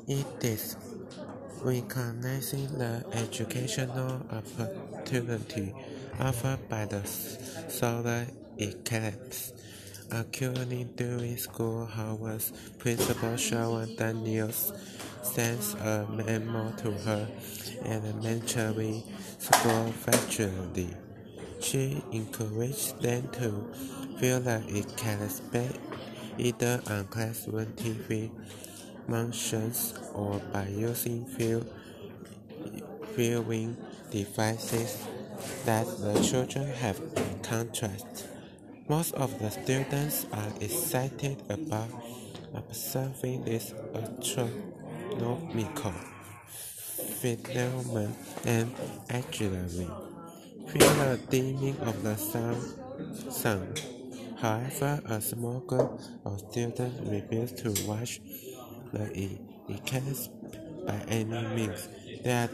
It is recognizing the educational opportunity offered by the solar eclipse. According during school hours, Principal Sharon Daniels sends a memo to her elementary school faculty. She encouraged them to view the eclipse either on classroom TV functions or by using viewing devices that the children have contrast. Most of the students are excited about observing this astronomical phenomenon and actually feel the dimming of the sun. However, a small group of students refuse to watch the eclipse by any means. They are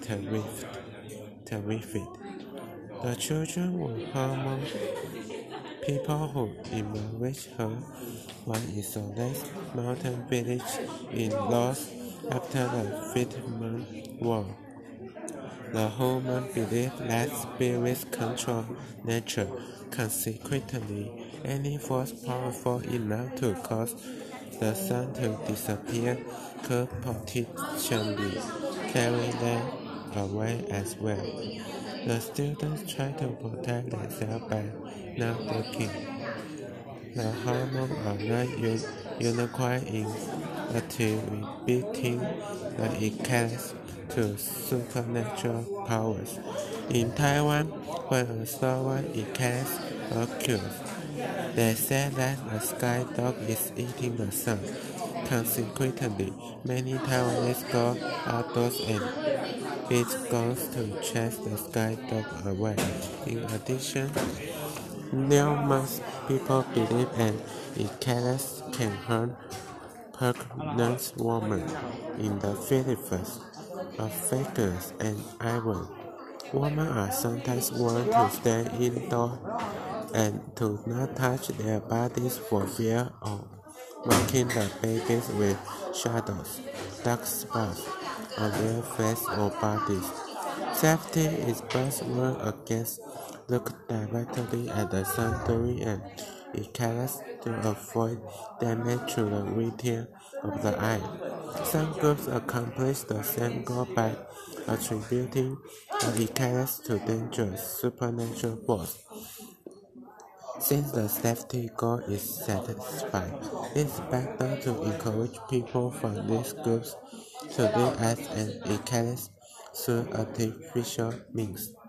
terrified. The children were harming people who emerged her one isolated mountain village in loss after the Vietnam War. The human belief that spirits control nature. Consequently, any force powerful enough to cause the sun to disappear could potentially carry them away as well. The students try to protect themselves by not looking. The hormones are not unified in attributing the eclipse to supernatural powers. In Taiwan, when a solar eclipse occurs, they say that the sky dog is eating the sun. Consequently, many Taiwanese go outdoors and beat guns to chase the sky dog away. In addition, numerous people believe an eclipse can harm pregnant women in the Philippines, Africans, and Iran. Women are sometimes warned to stay indoors and to not touch their bodies for fear of marking the babies with shadows, dark spots on their face or bodies. Safety is best warned against looking directly at the sun during an eclipse to avoid damage to the retina of the eye. Some groups accomplish the same goal by attributing the eclipse to dangerous supernatural force. Since the safety goal is satisfied, it's better to encourage people from these groups to look at an eclipse through artificial means.